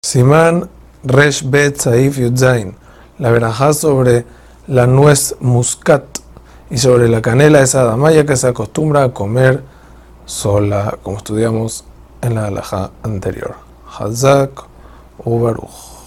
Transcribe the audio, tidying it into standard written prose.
Simán Resh Bet Saif Yudzain, la verajá sobre la nuez muscat y sobre la canela esa damaya que se acostumbra a comer sola, como estudiamos en la halajá anterior. Hazak u Baruch.